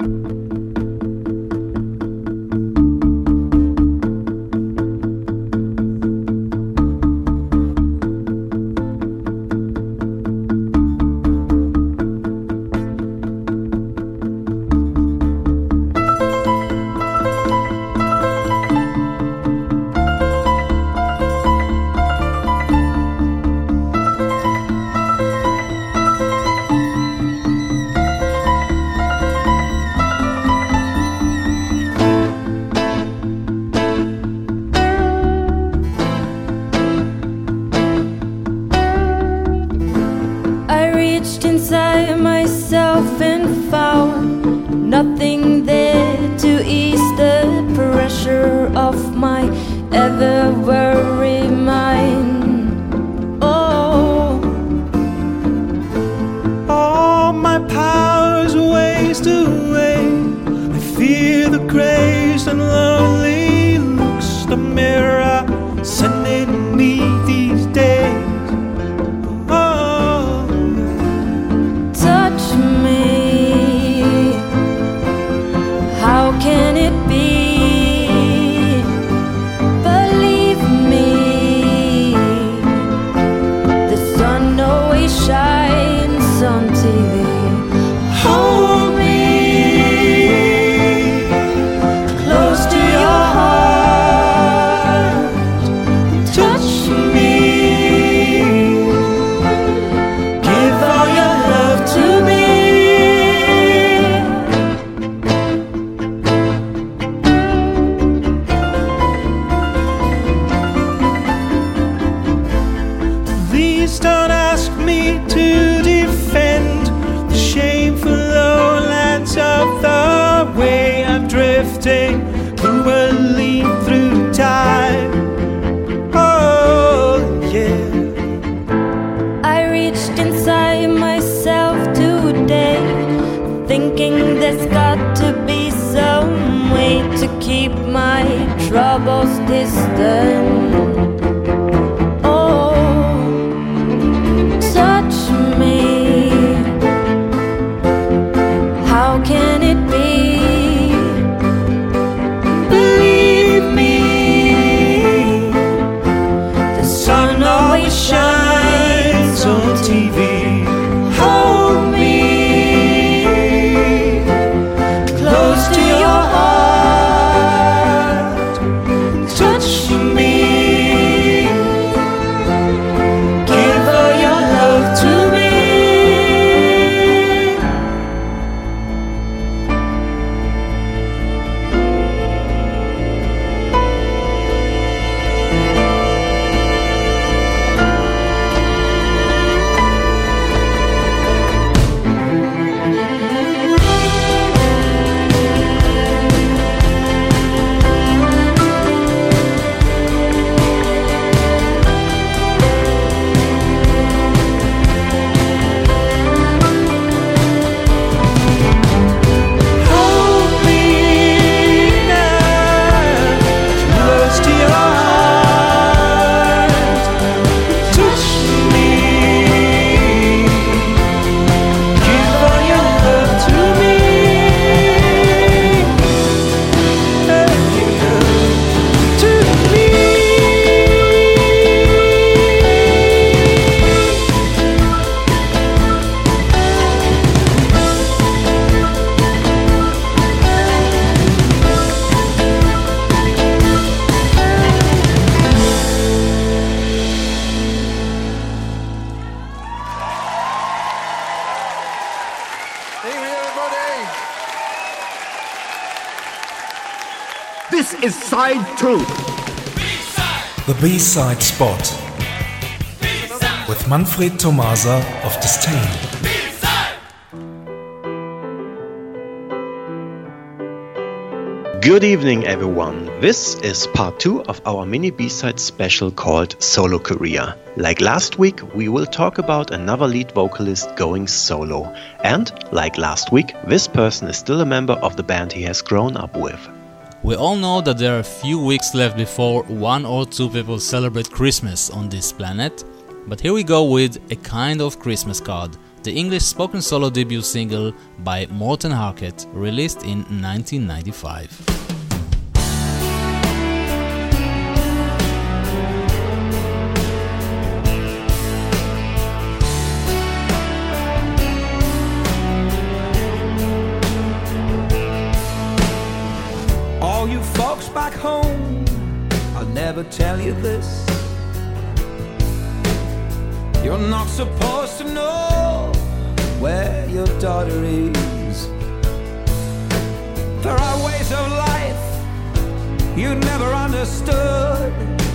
Nothing there to ease the pressure of my ever-weary mind. Oh, all my powers waste away. I fear the crazed and lonely looks the mirror sending me these days. Oh, touch me. How can it be? Believe me, the sun always shines on TV. Hold me close to your heart. Touch me. Give all your love to me. Don't ask me to defend the shameful lowlands of the way I'm drifting cruelly through time. Oh, yeah. I reached inside myself today, thinking there's got to be some way to keep my troubles distant. How can it be? Believe me, the sun always shines on TV. Hold me close to your heart. Touch me. Give all your love to me. This is side 2. The B-side spot. With Manfred Tomasa of Disdain. Good evening, everyone. This is part 2 of our mini B-side special called Solo Career. Like last week, we will talk about another lead vocalist going solo. And, like last week, this person is still a member of the band he has grown up with. We all know that there are a few weeks left before 1 or 2 people celebrate Christmas on this planet. But here we go with a kind of Christmas card the English spoken solo debut single by Morten Harket, released in 1995. All you folks back home, I'll never tell you this. You're not supposed to know where your daughter is. There are ways of life you never understood.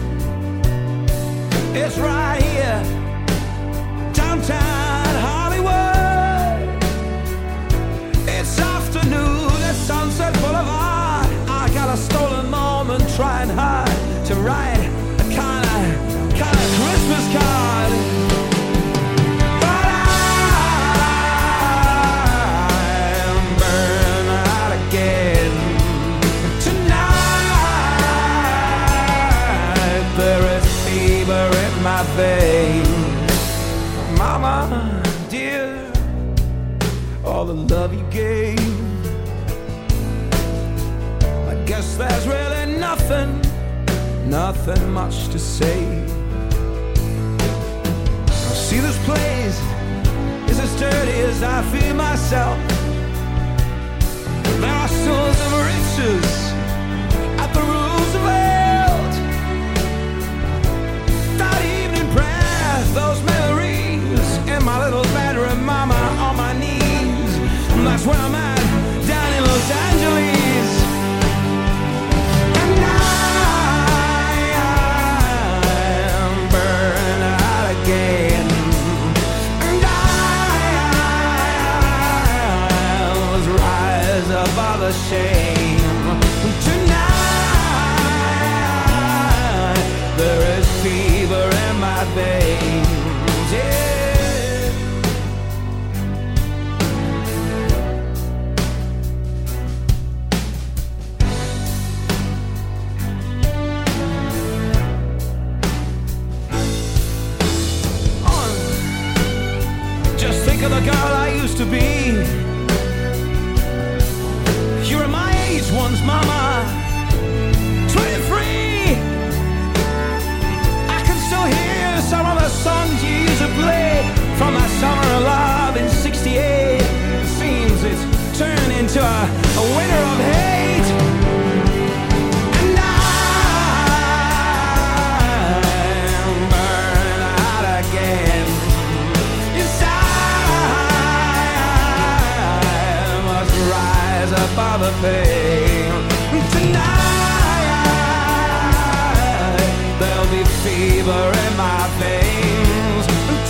It's right here, downtown Hollywood. It's afternoon at Sunset Boulevard. I got a stolen moment trying hard to write a kind of Christmas card. But I'm burning out again. Tonight there is fever in my veins. Mama, dear, all the love you gave, guess there's really nothing much to say. I see this place is as dirty as I feel myself. There are stores of riches at the Roosevelt. That evening prayer, those memories in my little bedroom, mama on my knees. That's where I'm at, down in Los Angeles. Above the shame. Tonight there is fever in my veins. Yeah. Oh, just think of the girl I used to be. Once, mama, 23. I can still hear some of the songs you used to play from that summer of love in 68. It seems it's turned into a winter of hate. And I'm burning out again. Inside I must rise above the pain. Fever in my veins.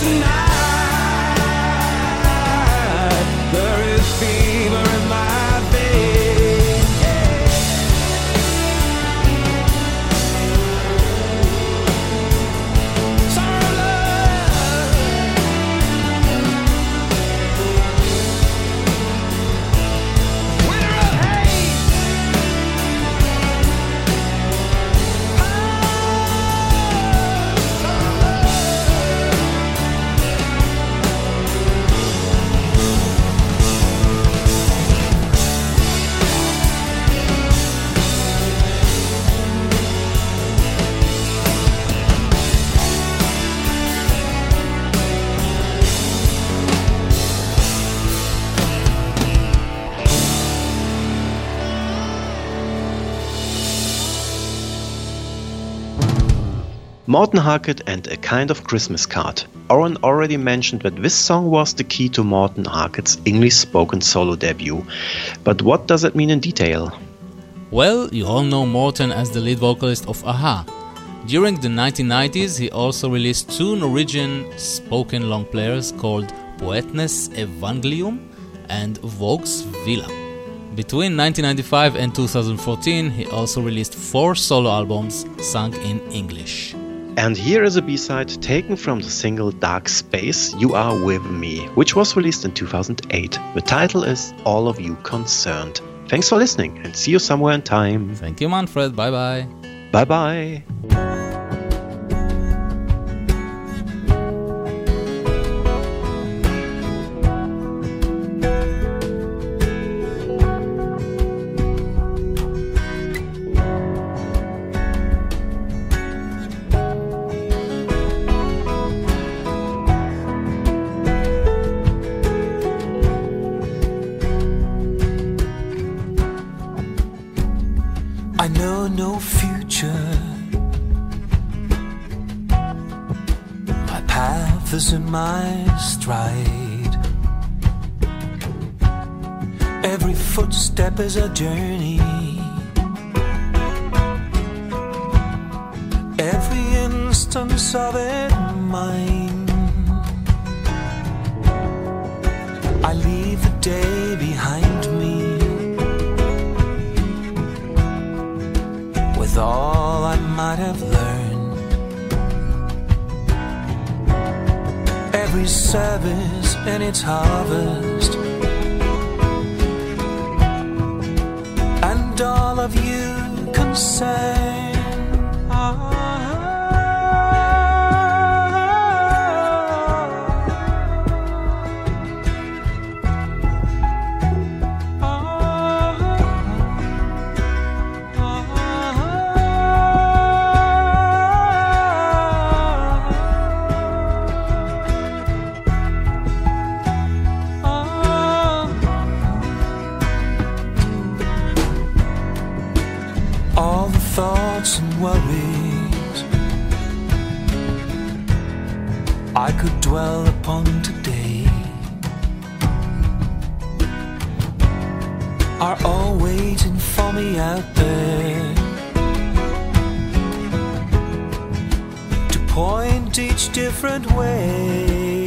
Tonight there is fever in my veins. Yeah. Summer love. Winter of hate. Morten Harket and A Kind of Christmas Card. Oren already mentioned that this song was the key to Morten Harket's English spoken solo debut. But what does it mean in detail? Well, you all know Morten as the lead vocalist of a-ha. During the 1990s, he also released two Norwegian spoken long players called Poetenes Evangelium and Vogues Villa. Between 1995 and 2014, he also released 4 solo albums sung in English. And here is a B-side taken from the single Dark Space, You Are With Me, which was released in 2008. The title is All of You Concerned. Thanks for listening and see you somewhere in time. Thank you, Manfred. Bye-bye. Bye-bye. I know no future. My path is in my stride. Every footstep is a journey. Every instance of it mine. I leave the day behind me with all I might have learned. Every service and its harvest, and all of you concerned. Thoughts and worries I could dwell upon today are all waiting for me out there to point each different way,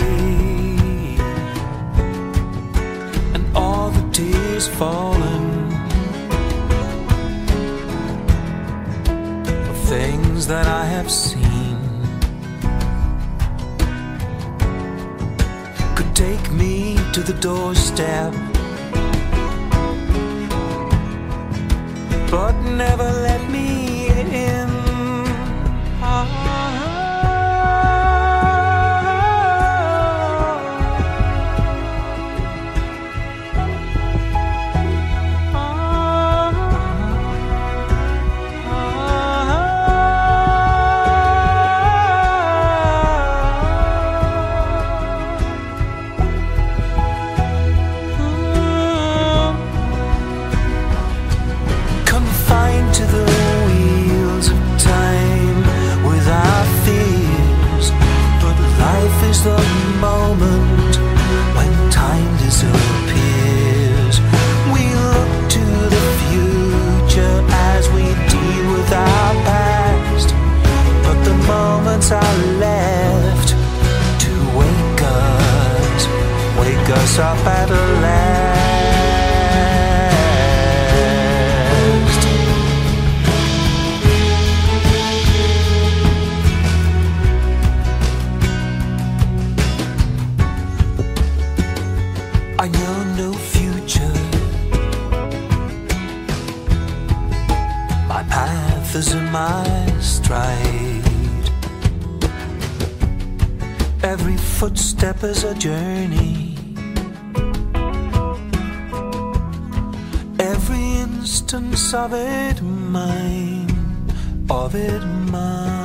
and all the tears falling, things that I have seen could take me to the doorstep, but never let me in. The moment when time disappears, we look to the future as we deal with our past, but the moments are left to wake us up at last. I know no future. My path is in my stride. Every footstep is a journey. Every instance of it mine, of it mine.